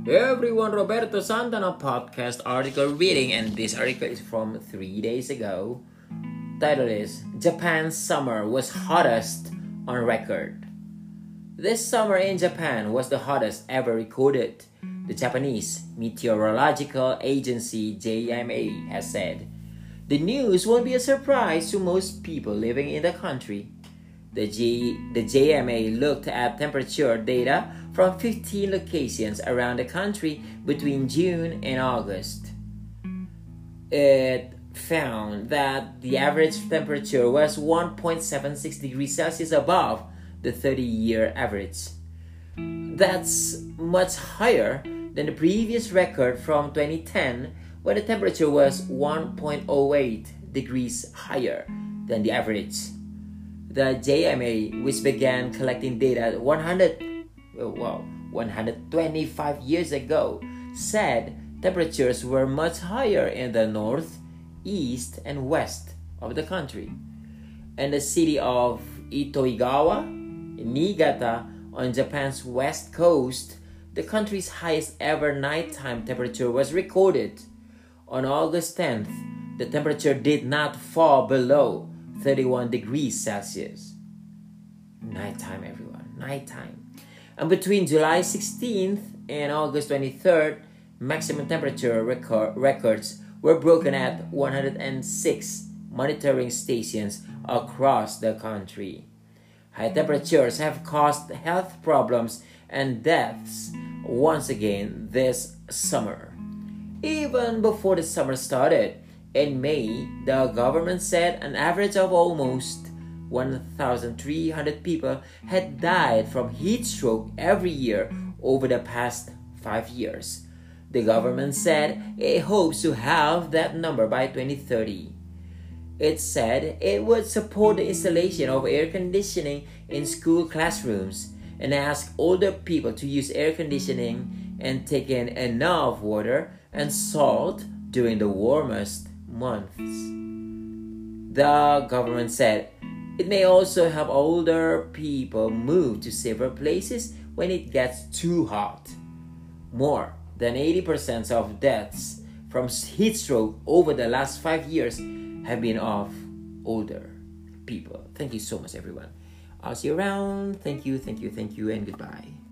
Everyone, Roberto Santana podcast article reading, and this article is from 3 days ago. Title is Japan's summer was hottest on record. This summer in Japan was the hottest ever recorded, the Japanese Meteorological Agency JMA has said. The news won't be a surprise to most people living in the country. The JMA looked at temperature data from 15 locations around the country between June and August. It found that the average temperature was 1.76 degrees Celsius above the 30-year average. That's much higher than the previous record from 2010, when the temperature was 1.08 degrees higher than the average. The JMA, which began collecting data 125 years ago, said temperatures were much higher in the north, east, and west of the country. In the city of Itoigawa, in Niigata, on Japan's west coast, the country's highest ever nighttime temperature was recorded. On August 10th, the temperature did not fall below 31 degrees Celsius. Nighttime, everyone. Nighttime. And between July 16th and August 23rd, maximum temperature records were broken at 106 monitoring stations across the country. High temperatures have caused health problems and deaths once again this summer. Even before the summer started, in May, the government said an average of almost 1,300 people had died from heat stroke every year over the past 5 years. The government said it hopes to have that number by 2030. It said it would support the installation of air conditioning in school classrooms and ask older people to use air conditioning and take in enough water and salt during the warmest months. The government said it may also help older people move to safer places when it gets too hot. More than 80% of deaths from heat stroke over the last 5 years have been of older people. Thank you so much, everyone. I'll see you around. Thank you, and goodbye.